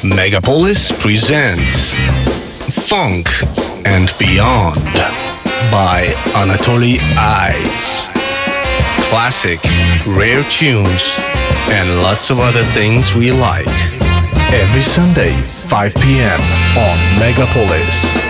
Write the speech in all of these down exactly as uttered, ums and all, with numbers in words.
Megapolis presents Funk and Beyond by Anatoly Eyes. Classic, rare tunes, and lots of other things we like. Every Sunday, five p.m. on Megapolis.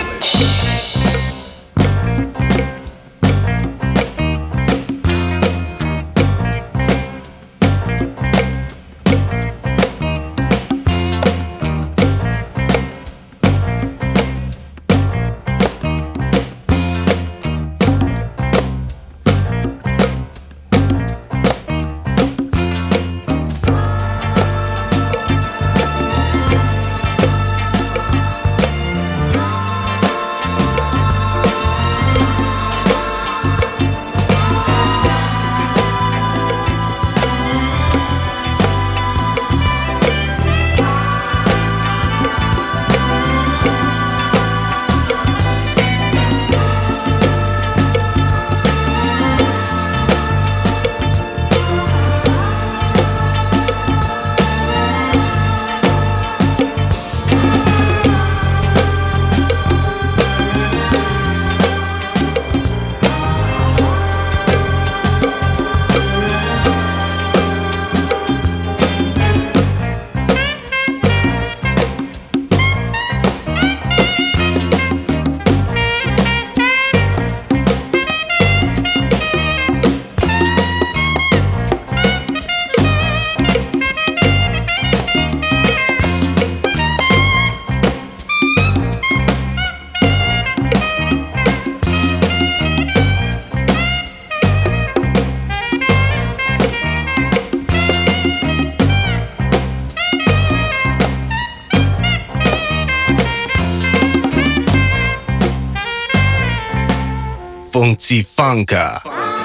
Funky Funka.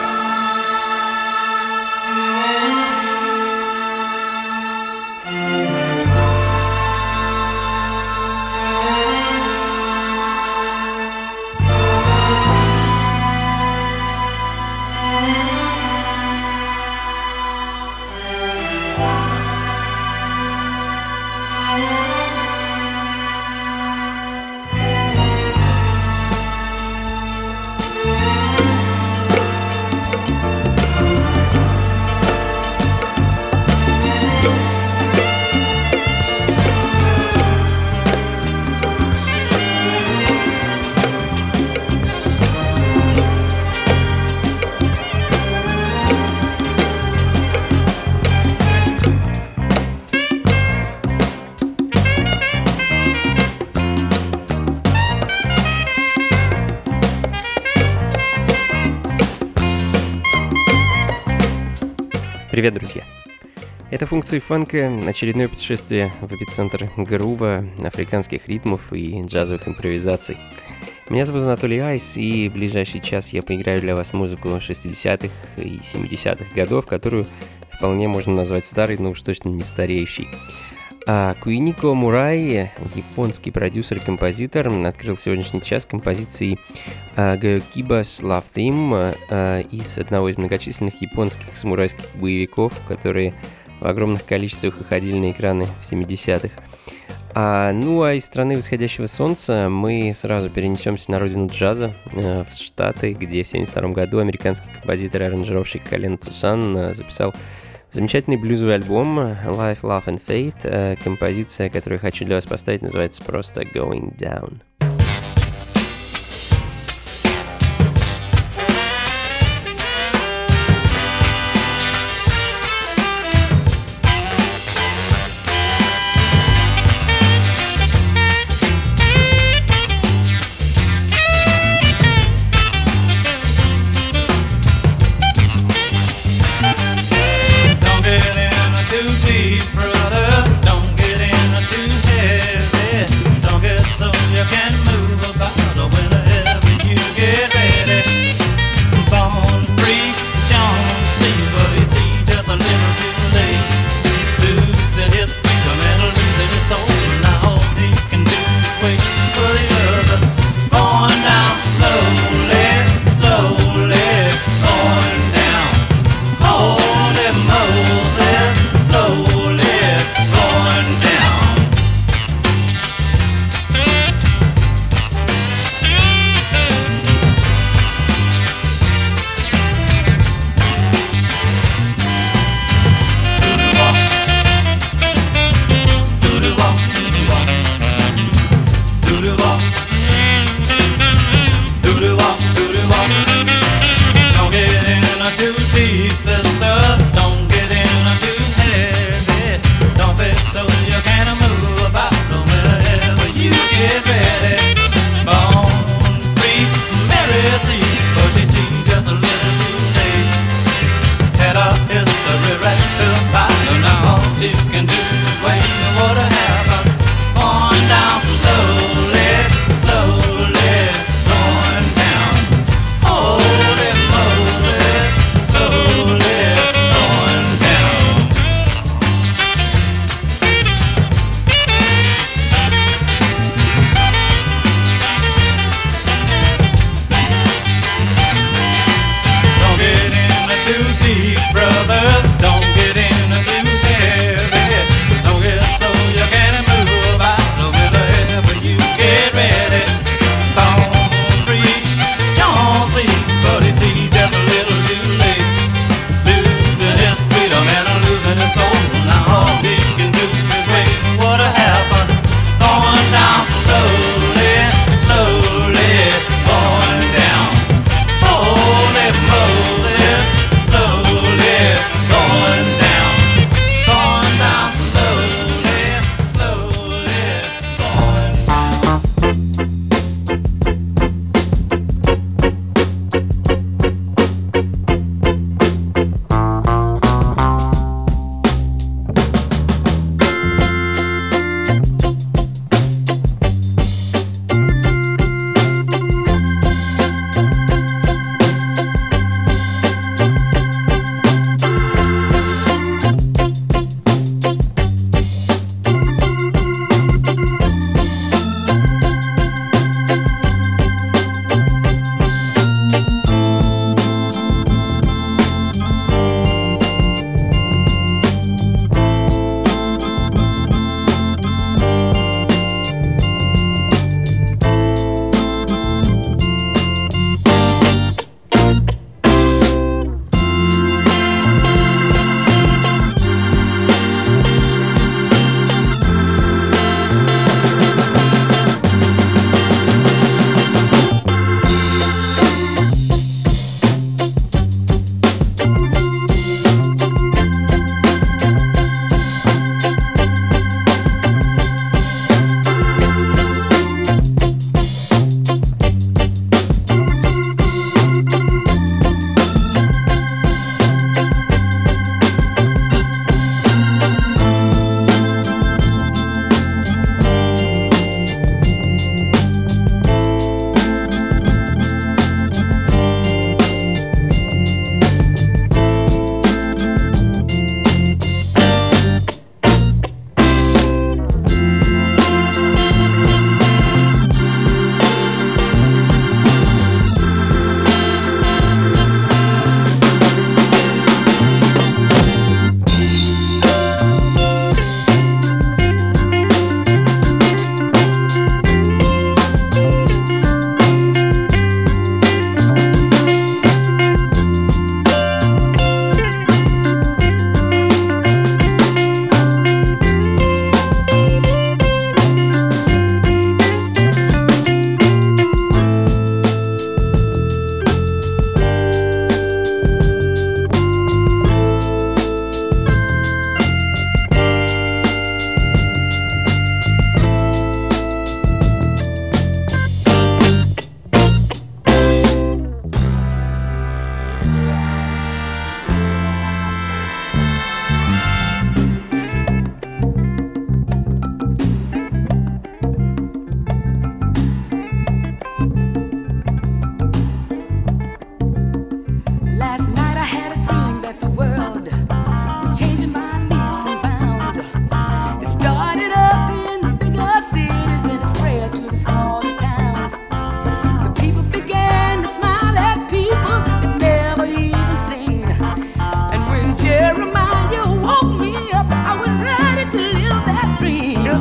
Привет, друзья! Это функции фанка, очередное путешествие в эпицентр грува, африканских ритмов и джазовых импровизаций. Меня зовут Анатолий Айс, и в ближайший час я поиграю для вас музыку шестидесятых и семидесятых годов, которую вполне можно назвать старой, но уж точно не стареющей. А Куинико Мурай, японский продюсер и композитор, открыл сегодняшний час композицией Гоёкибас Love Theme из одного из многочисленных японских самурайских боевиков, которые в огромных количествах выходили на экраны в семидесятых. А, ну а из страны восходящего солнца мы сразу перенесемся на родину джаза, в Штаты, где в семьдесят втором году американский композитор и аранжировщик Колен Цусан записал замечательный блюзовый альбом Life, Love and Fate. Композиция, которую я хочу для вас поставить, называется просто Going Down. Slowly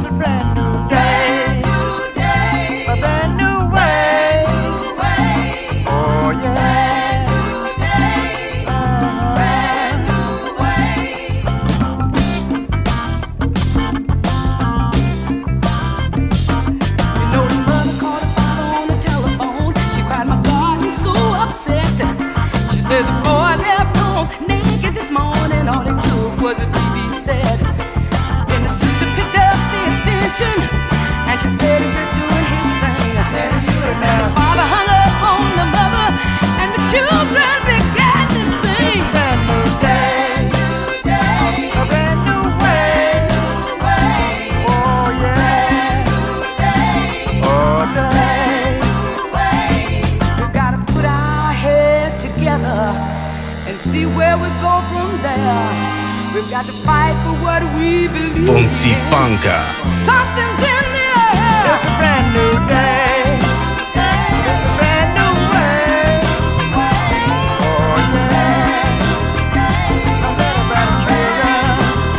Funky Funka. Something's in the air. It's a brand new day. It's a brand new way. Oh yeah. I'm better about children.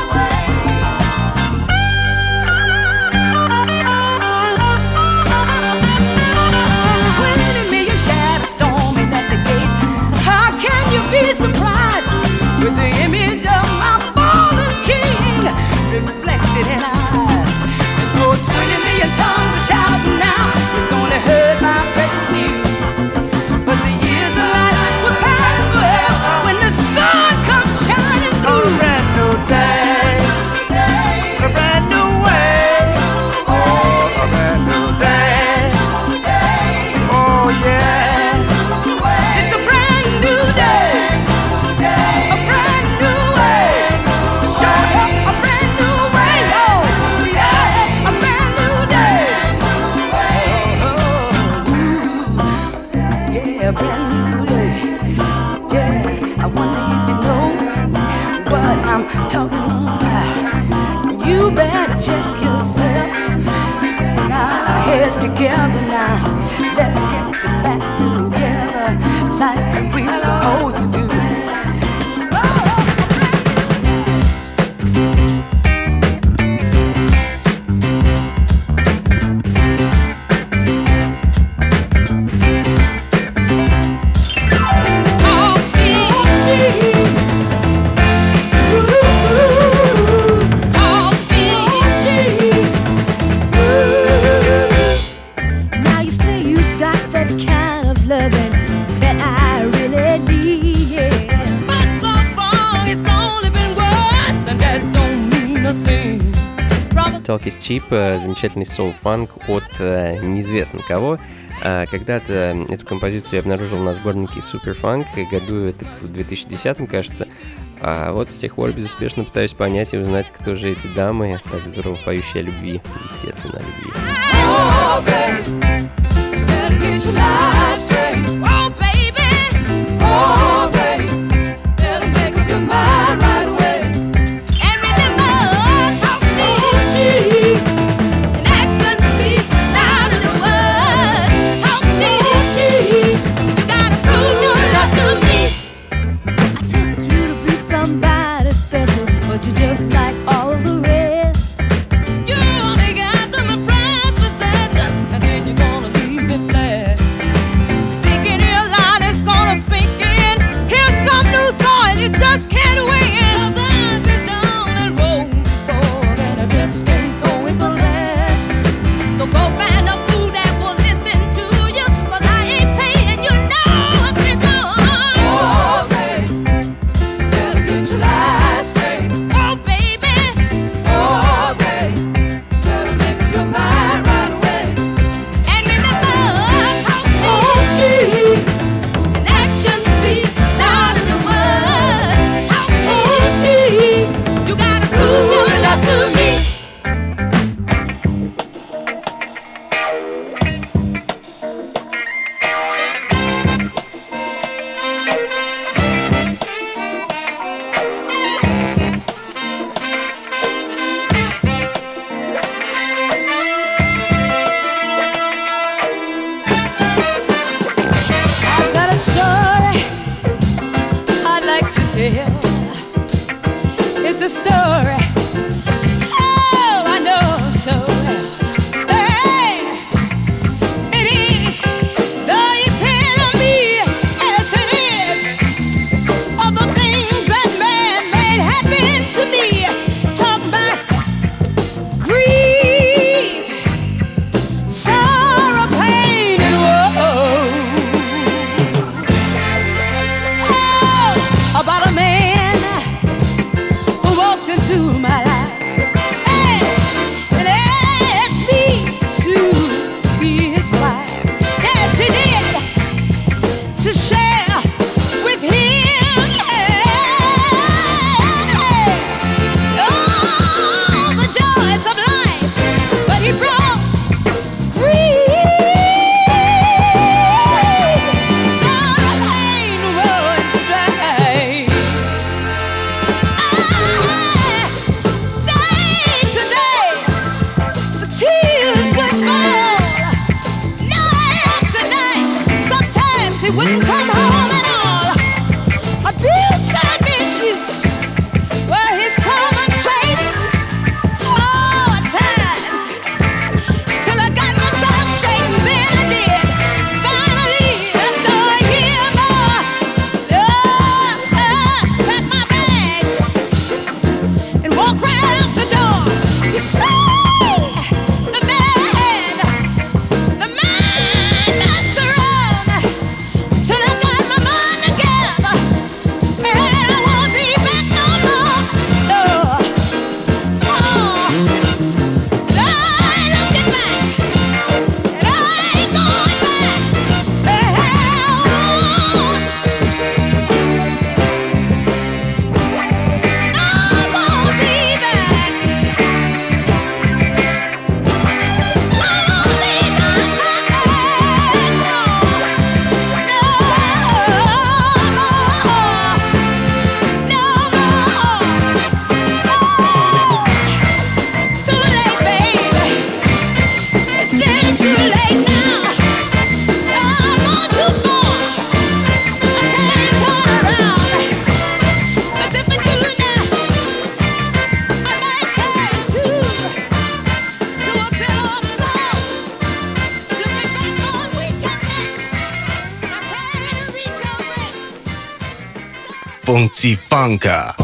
Twenty million shadows storming at the gate. How can you be surprised with the image of my fallen king reflected in eyes? And though twenty million tongues are shouting now, it's only heard my precious news. But the years of light will pass forever when the sun comes shining through. A brand new day, a brand new way. Oh, a brand new day. Oh yeah, it's a brand new day, a brand new way. Show up a brand new way. Oh yeah, a brand new day. Oh, yeah, a brand new day. Yeah, I wonder if you know what I'm talking about. You better check yourself. Put our heads together now. Let's get back together like we supposed to do. Now you say you've got that kind of loving that I really need. But so far it's only been words, and that don't mean a thing. Talk is Cheap, э, замечательный соул-фанк от э, неизвестно кого. А когда-то эту композицию я обнаружил на сборнике Superfunk, году это в две тысячи десятом, кажется. А вот с тех пор безуспешно пытаюсь понять и узнать, кто же эти дамы, так здорово поющие о любви, естественно, о любви. Oh, baby, better get your life straight. Oh, baby, oh, baby, better make up your mind right away. And remember, talk cheap, and action speaks louder than words. Talk cheap, you gotta prove your love to me. I took you to be somebody special, but you're just like all the rest. You only got them a prized possession, and then you're gonna leave me flat. Funky Funka.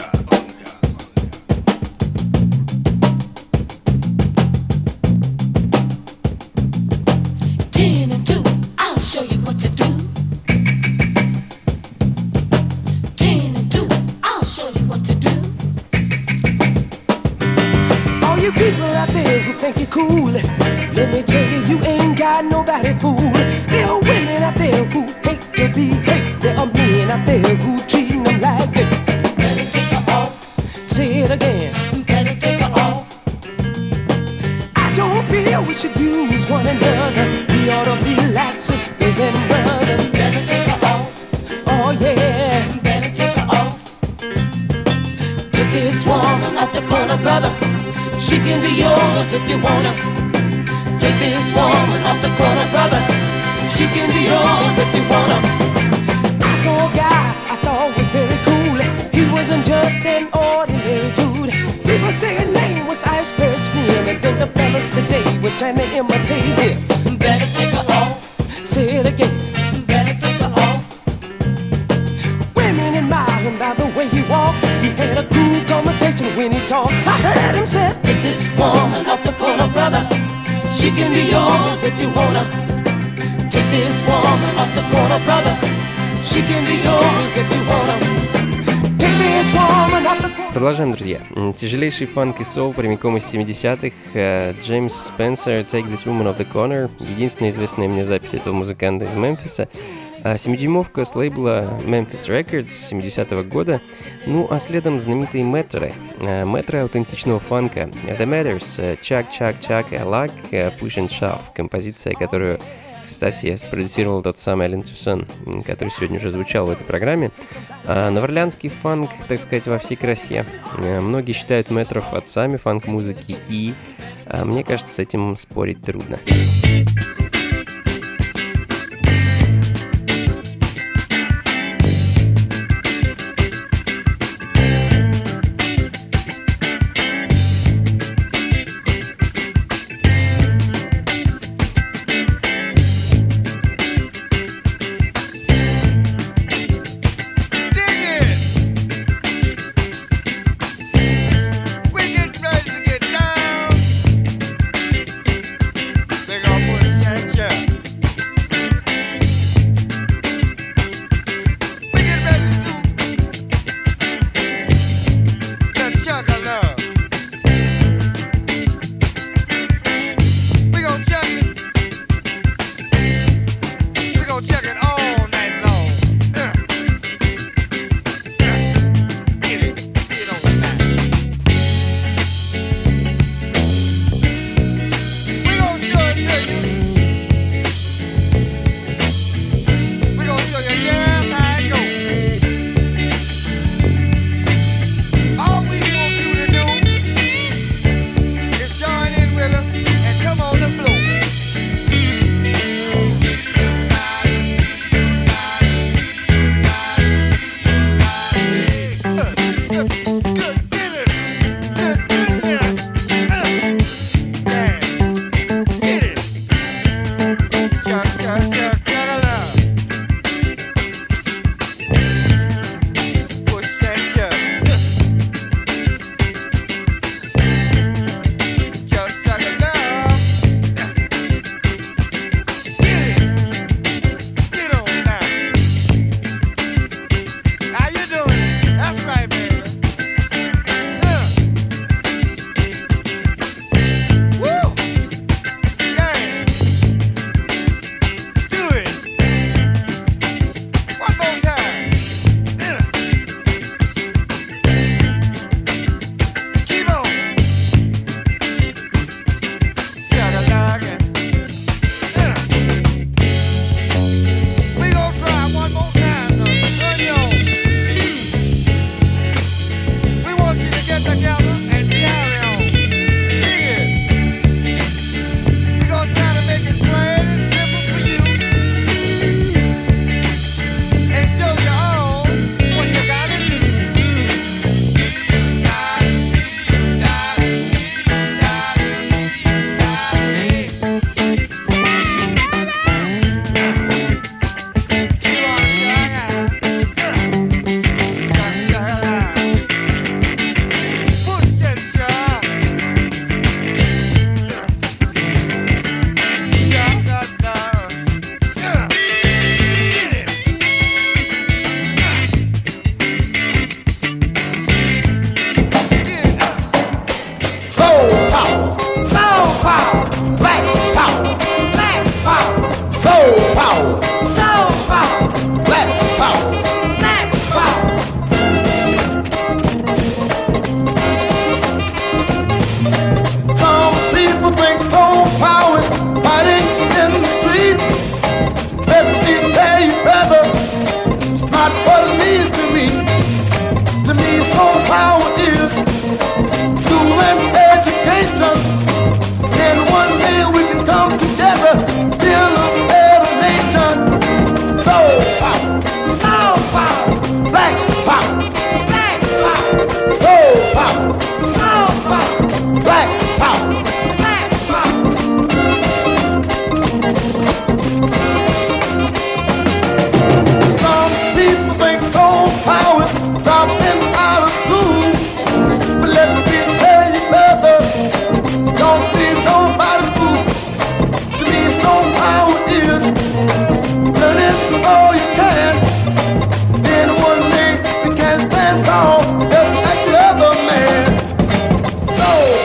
Ten and two, I'll show you what to do. Ten and two, I'll show you what to do. All you people out there who think you're cool, let me tell you, you ain't got nobody fool. There are women out there who hate to be hate. There are men out there who treating them like this. Better take her off. Say it again. Better take her off. I don't feel we should use one another. We ought to be like sisters and brothers. Better take her off. Oh yeah. Better take her off. Take this woman off the corner, brother. She can be yours if you wanna. Take this woman off the corner, brother. She can be yours if you wanna. I saw a guy I thought was very cool. He wasn't just an ordinary dude. People say his name was Iceberg Slim, and then the fellas today were trying to imitate him. Better take her off. Say it again. Better take her off. Women admire him by the way he walked. He had a cool conversation when he talked. I heard him say, take this woman off the corner, brother. She can be yours if you wanna. Take this woman off the corner, brother. She can be yours if you wanna. Take this woman off the corner. Продолжаем, друзья. Тяжелейший фанк и соул прямиком из семидесятых. Джеймс Спенсер, Take This Woman Off The Corner. Единственная известная мне запись этого музыканта из Мемфиса. Семидюймовка с лейбла Memphis Records семидесятого года. Ну, а следом знаменитые мэтры. Мэтры аутентичного фанка. The Matters, Chuck, Chuck, Chuck, I Like, Push and Shove. Композиция, которую, кстати, спродюсировал тот самый Ален Тюсон, который сегодня уже звучал в этой программе. Новоорлеанский фанк, так сказать, во всей красе. Многие считают мэтров отцами фанк-музыки, и мне кажется, с этим спорить трудно. They gonna put a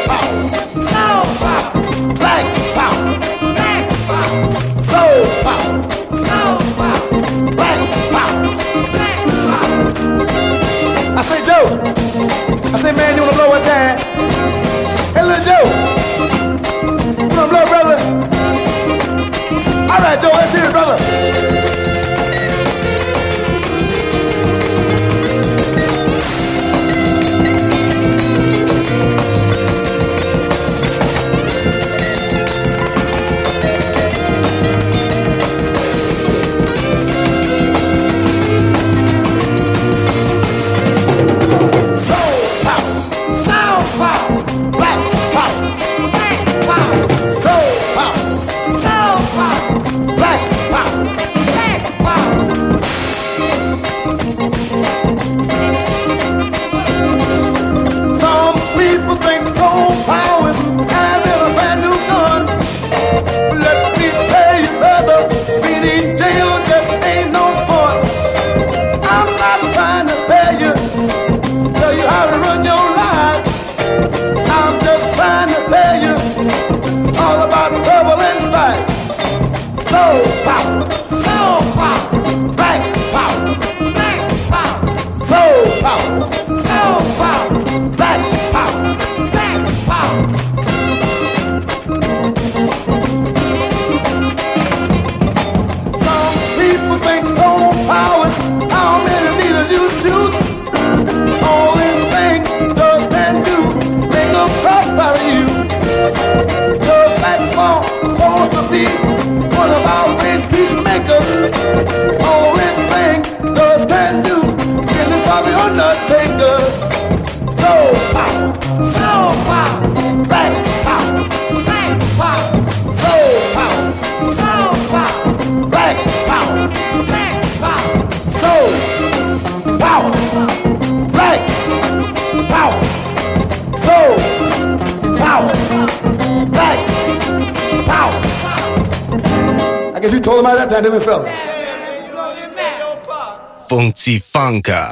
Funky Funka.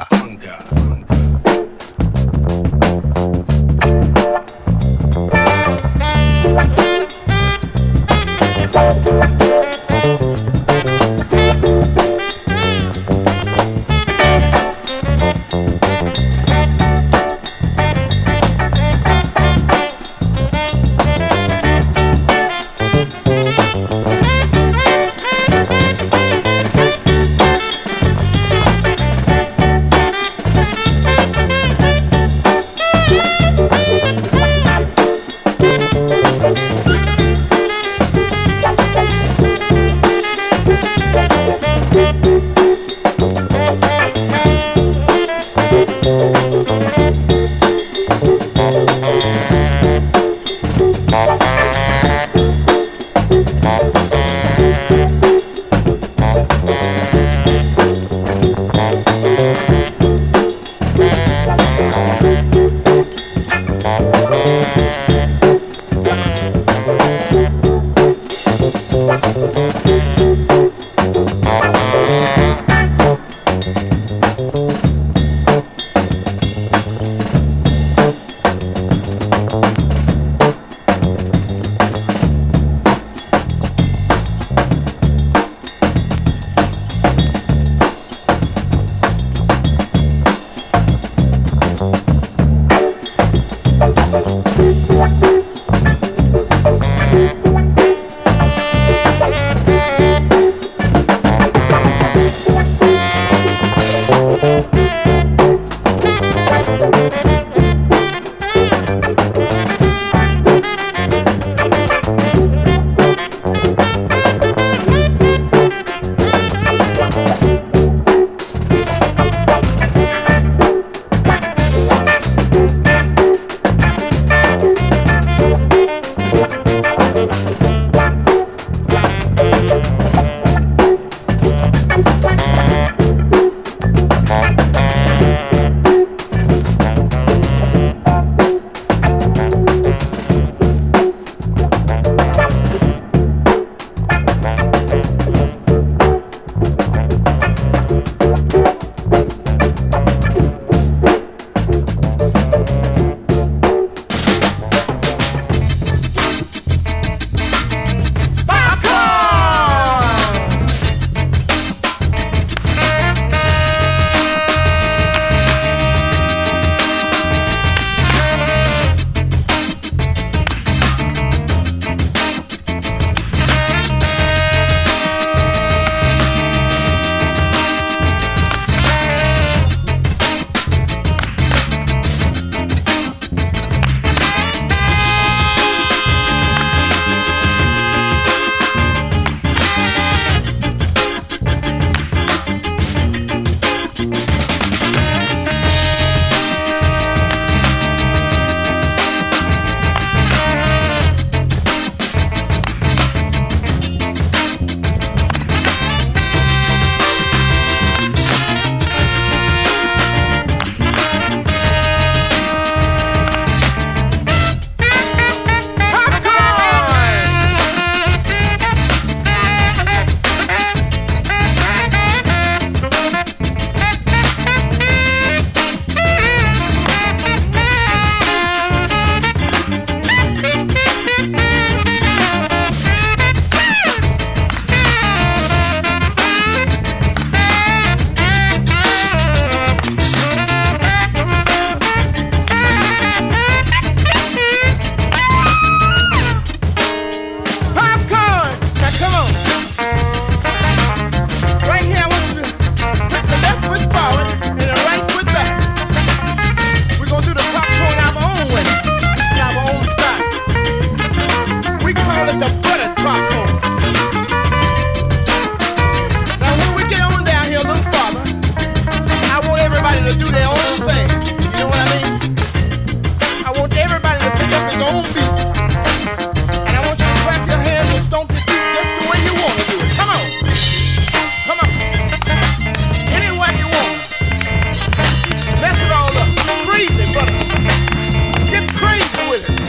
own beat. And I want you to clap your hands and stomp your feet just the way you want to do it. Come on. Come on. Any way you want. Mess it all up. Crazy, but get crazy with it.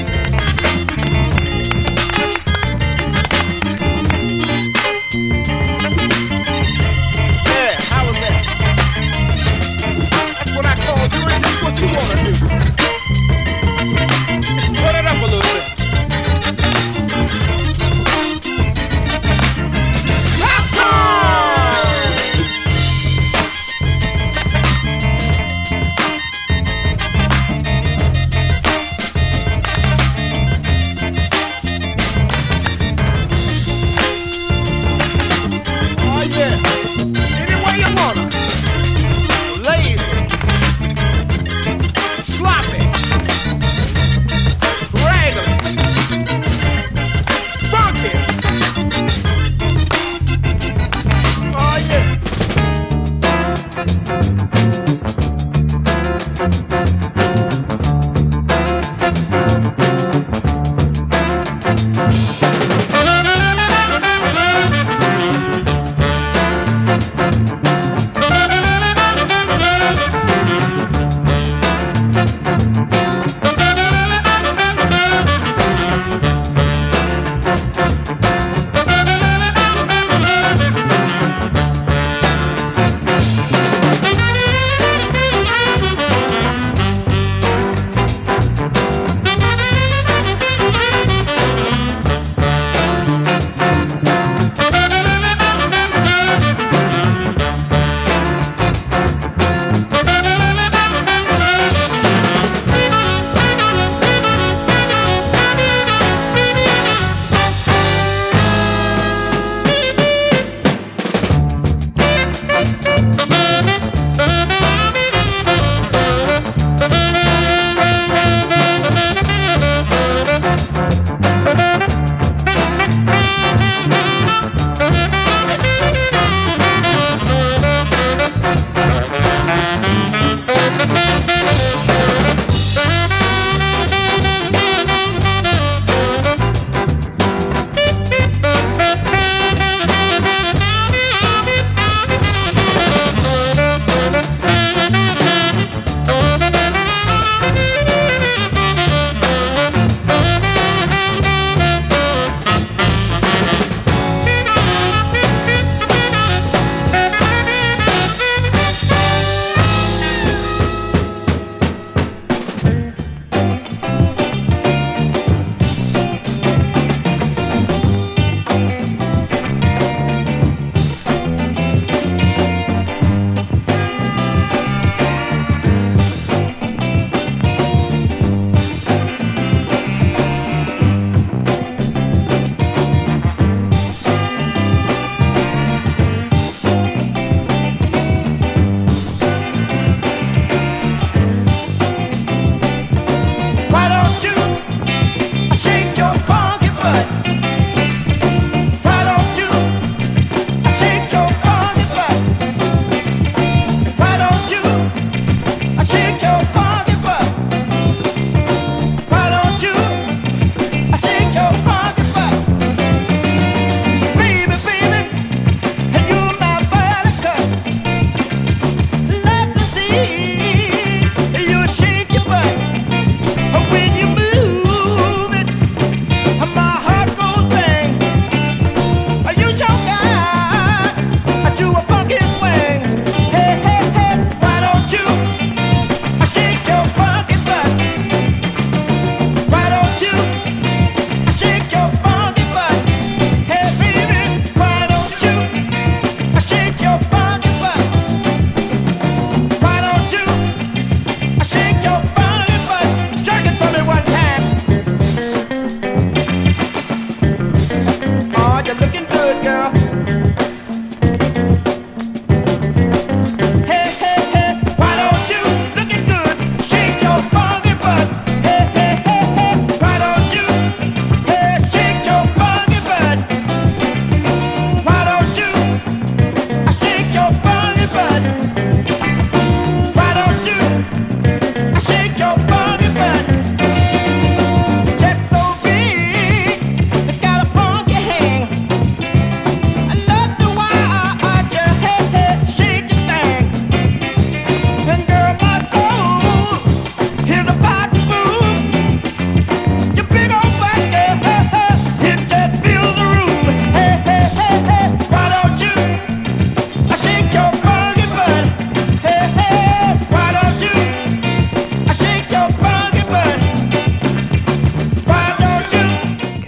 Yeah, how was that? That's what I call doing just what you want to do. Just put it up a little.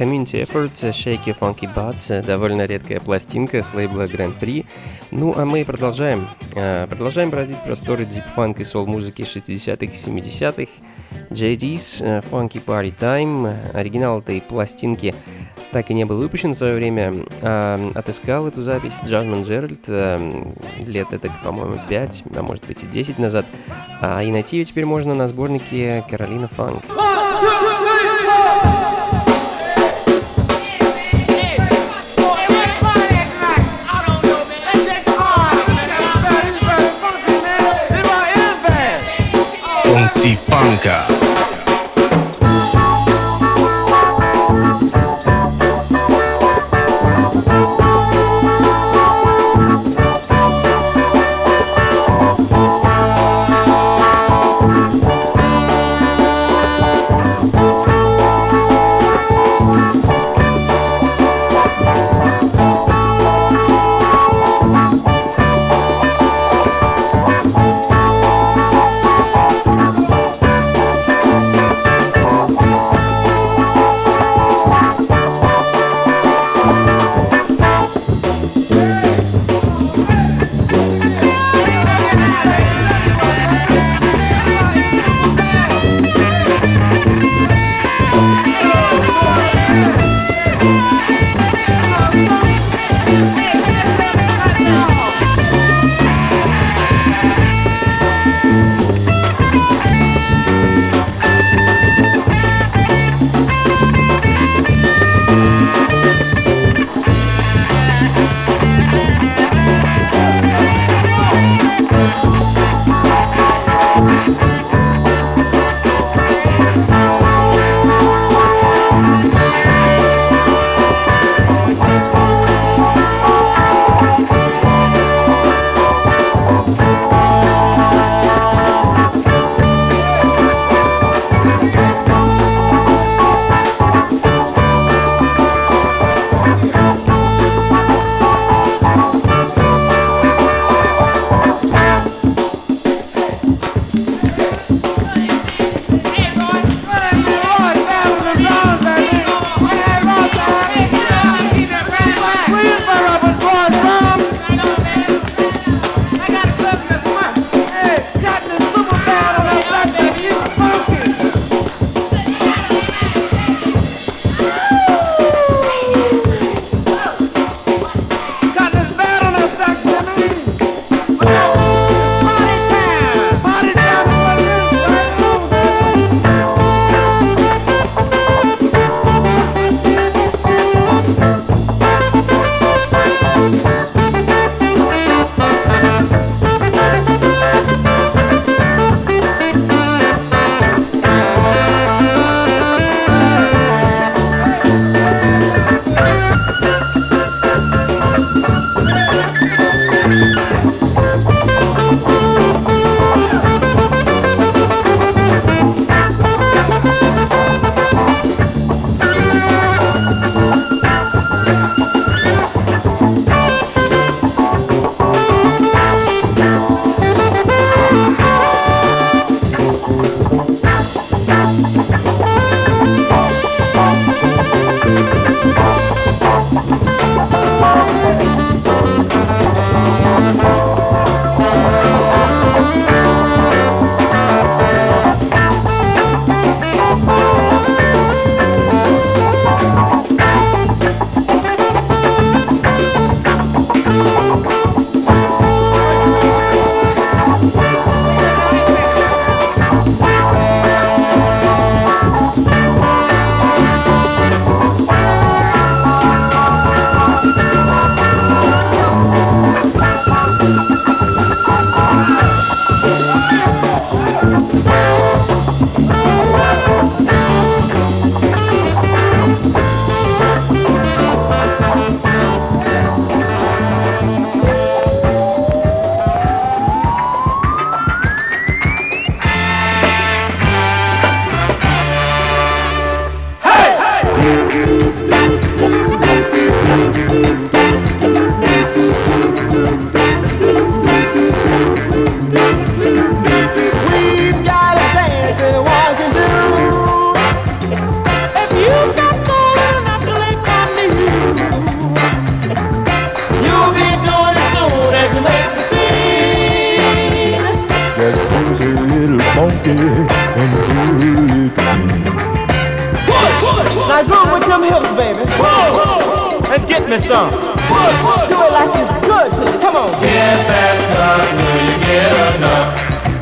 Community Effort, Shake Your Funky Butt, довольно редкая пластинка с лейбла Grand Prix. Ну, а мы продолжаем. Продолжаем бороздить просторы дип-фанк и сол-музыки шестидесятых и семидесятых. джей ди's Funky Party Time. Оригинал этой пластинки так и не был выпущен в свое время. А, отыскал эту запись Джазмин Джеральд а, лет это, по-моему, пять, а может быть и десять назад. А, и найти ее теперь можно на сборнике Carolina Funk. Funky Funka. on with them hips, baby. Whoa. And get me some. Whoa. Do it like it's good to you. Come on. Get that stuff till you get enough.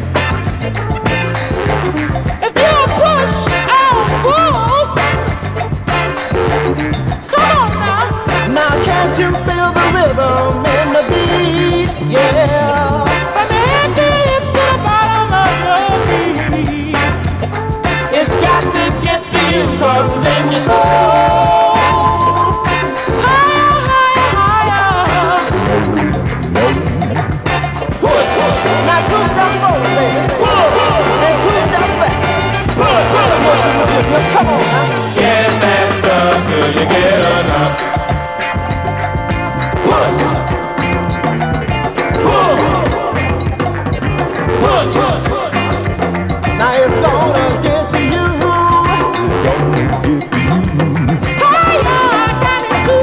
If you push, I'll pull. Come on now. Now can't you feel the rhythm in the beat? Yeah. From the head to the hips to the bottom of your feet. It's got to get to you 'cause it's in your soul. Higher, higher, higher. Push. Now two steps forward, baby. And two steps back. Come on now. Get that stuff till you get enough. Push. Pull. Push. Now it's gonna get to you. Higher than it's you.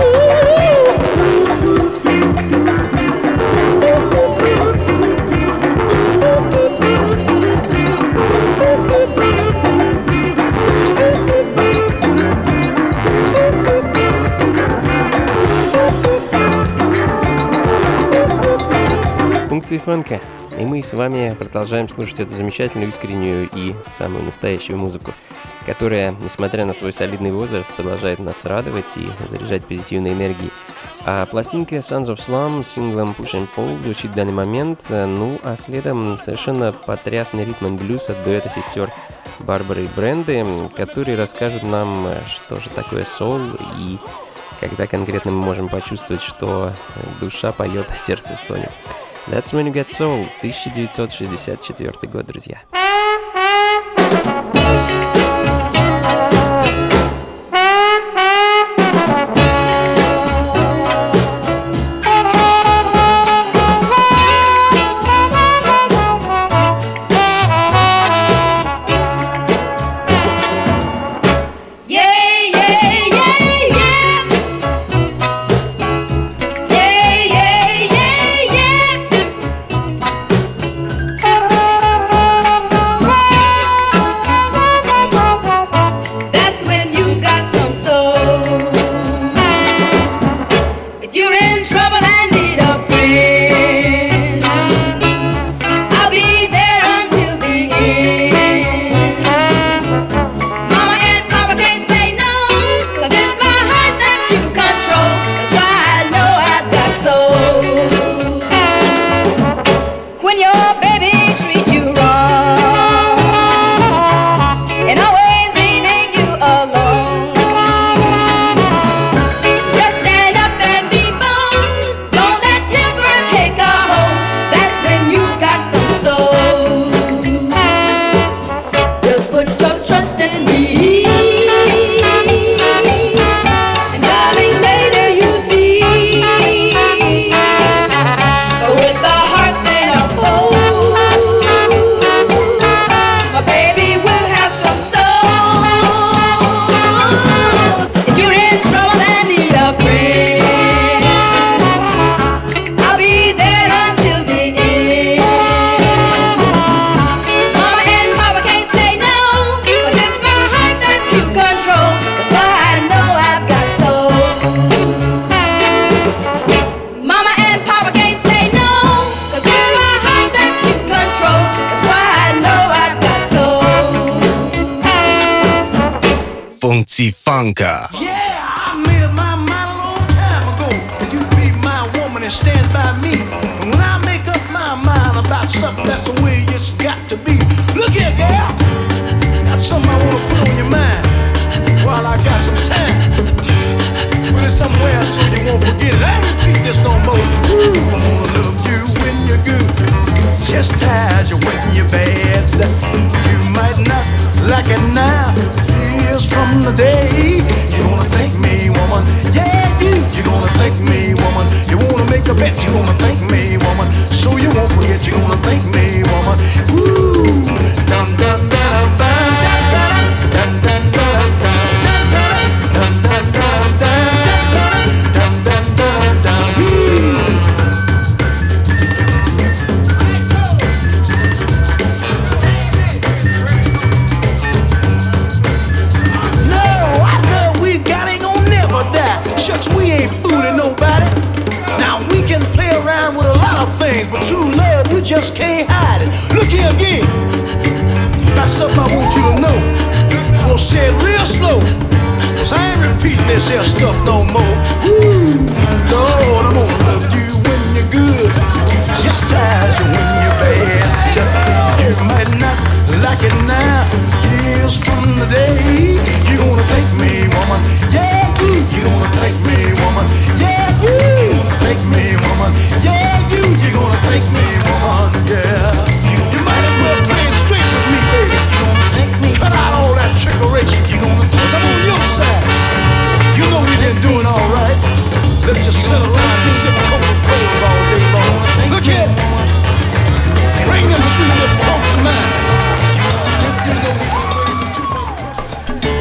Функции фанка. И мы с вами продолжаем слушать эту замечательную, искреннюю и самую настоящую музыку, которая, несмотря на свой солидный возраст, продолжает нас радовать и заряжать позитивной энергией. А пластинка Sons of Slum с синглом Push and Pull звучит в данный момент, ну а следом совершенно потрясный ритм and блюз от дуэта сестер Барбары и Бренды, которые расскажут нам, что же такое соул и когда конкретно мы можем почувствовать, что душа поет, а сердце стонет. That's When You Get Soul, тысяча девятьсот шестьдесят четвёртый год, друзья. Funky Funka. Yeah, I made up my mind a long time ago that you be my woman and stand by me. And when I make up my mind about something, that's the way it's got to be. Look here, girl, that's something I wanna put on your mind while I got some time. Put it somewhere so you won't forget it. I ain't repeat this no more. Ooh, I'm gonna love you when you're good, chastise you when you're bad. You might not like it now. Years from the day you're gonna thank me, woman. Yeah, you, you're gonna thank me, woman. You wanna make a bet, you're gonna thank me, woman. So you won't forget, you're gonna thank me, woman. Ooh, dum dum dum dum dum dum dum dum dum dum dum dum dum dum dum. No, I know we got can't hide it. Look here again. That's something I want you to know. I'm gonna say it real slow, cause I ain't repeating this here stuff no more. Ooh, Lord, I'm gonna love you when you're good, just as you when you're bad. You might not like it now, years from the day. You gonna thank me, woman. Yeah, you. You gonna thank me, woman. Yeah, you. Thank me, woman. Yeah, you. You gonna thank me, woman. Yeah. You might as well play it straight with me, baby. You gonna thank me. Cut out all that trickery. You gonna thank me. I'm on your side. You know we been doing all right. Let's just sit around and sip Coca-Cola all day long. Look here. Bring them sweet lips close to mine. You know we been wasting too much precious time.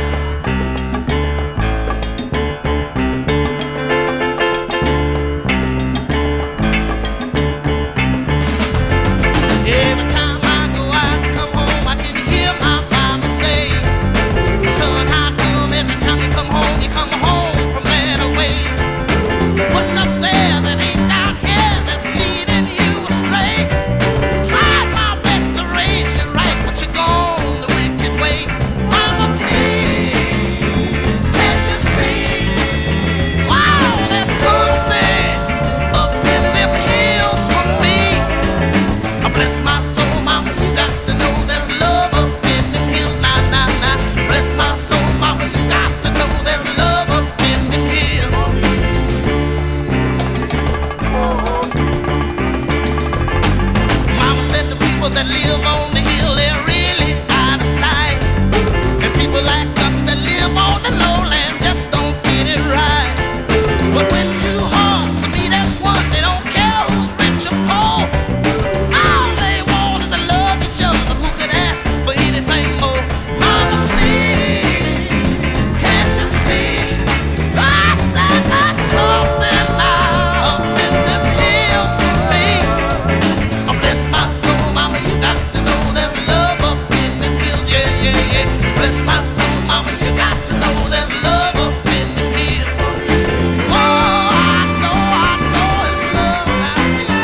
Every time I go out and come home, I can hear my mama say, son, how come every time you come home, you come home from that away? What's up there that ain't down here that's leading you astray? Tried my best to raise you right, but you're gone the wicked way. Mama, please, can't you see? Wow, there's something up in them hills for me. I bless my soul, mama, you got to know there's love up in them hills. Nah, nah, nah. Bless my soul, mama, you got to know there's love up in them hills. Mama said the people that live on the hill, they're really out of sight. And people like us that live on the lowland just don't fit it right. But when two hearts meet as one, they don't care who's rich or poor. All they want is to love each other. Who could ask for anything more? Mama, please, can't you see? I said there's something now up in them hills for me. Oh, bless my soul, mama, you got to know there's love up in them hills. Yeah, yeah, yeah. Bless my soul, mama, you got to know there's love up in them hills. Oh, I know, I know it's love now.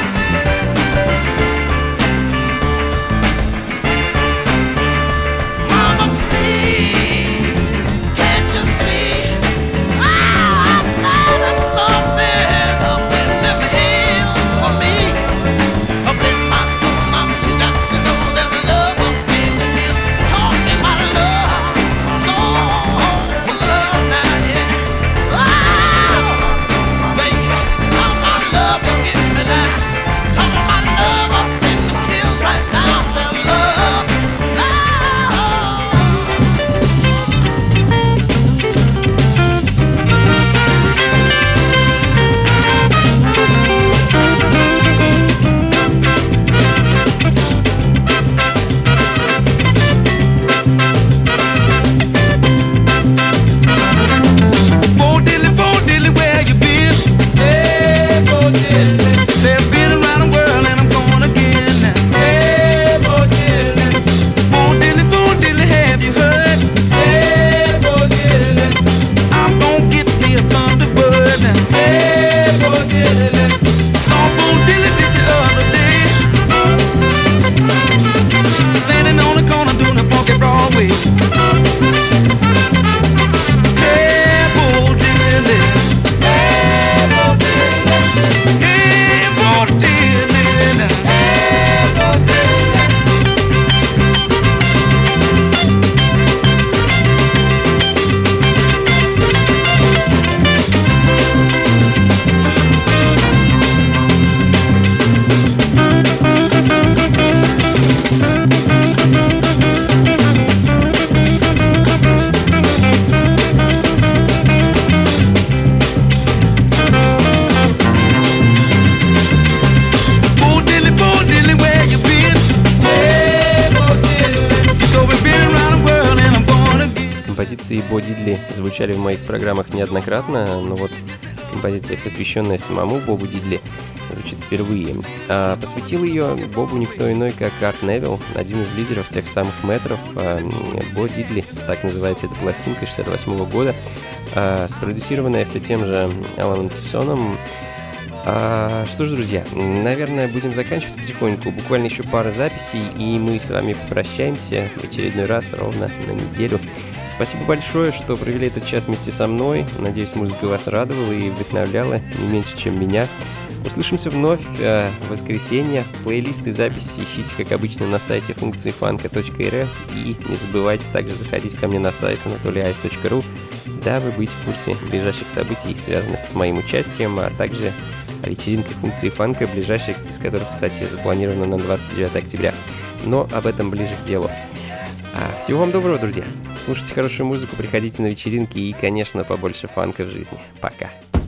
Mama, please, can't you see? Oh, I said there's something up in them hills for me. Oh, bless my soul, mama, you got to know there's love up in them hills. Talking about love, so for love now, yeah. Oh, baby, how my love you give me now. Talking about love up in them hills right now. There's love, oh. Bo Diddley, Bo Diddley, where you been? Hey, Bo Diddley. Say I've been around the world and I'm going again now. Hey, Bo Diddley. Bo Diddley, Bo Diddley, have you heard? Hey, Bo Diddley. I'm gonna get me a Thunderbird now. Hey, Bo Diddley. Saw Bo Diddley just the other day, standing on the corner doing a funky Broadway. Hey, Bo Diddley. Hey, Bo Diddley. Hey, Bo Diddley now. Hey, Bo Diddley. Bo Diddley, Bo Diddley, where you been? Hey, Bo Diddley. You told me been around the world and I'm born again. Композиции Бо Дидли звучали в моих программах неоднократно, но вот композиция, посвященная самому Бобу Дидли, звучит впервые. А посвятил ее Бобу никто иной, как Арт Невилл, один из лидеров тех самых метров. Бо Дидли, так называется эта пластинка шестьдесят восьмого года, спродюсированная все тем же Аланом Тисоном. А, что ж, друзья, наверное, будем заканчивать потихоньку. Буквально еще пара записей, и мы с вами попрощаемся в очередной раз ровно на неделю. Спасибо большое, что провели этот час вместе со мной. Надеюсь, музыка вас радовала и вдохновляла не меньше, чем меня. Услышимся вновь э, в воскресенье. Плейлисты, записи ищите, как обычно, на сайте функции фанка точка эр эф. И не забывайте также заходить ко мне на сайт анатолий айс точка ру, дабы быть в курсе ближайших событий, связанных с моим участием, а также о вечеринках функции фанка, ближайших из которых, кстати, запланировано на двадцать девятое октября. Но об этом ближе к делу. А, всего вам доброго, друзья. Слушайте хорошую музыку, приходите на вечеринки и, конечно, побольше фанка в жизни. Пока.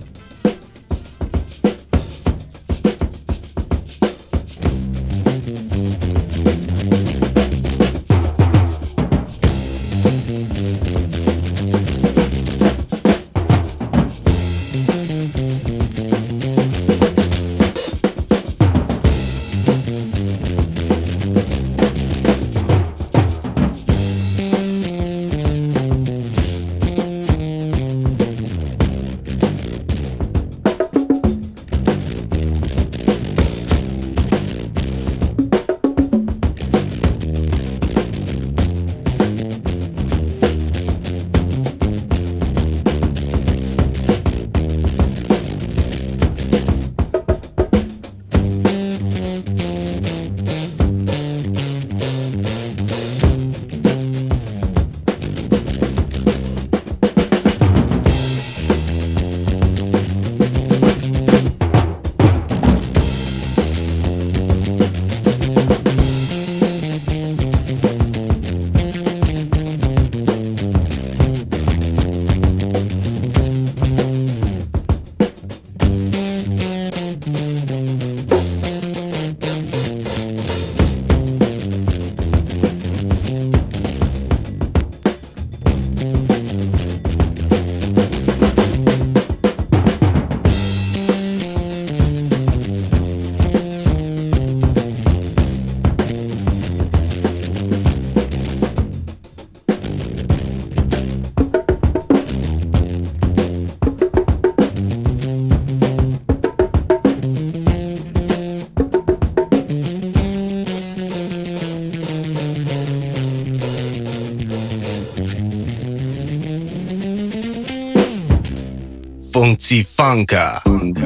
Funky Funka.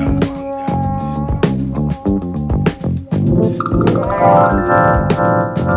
Funka.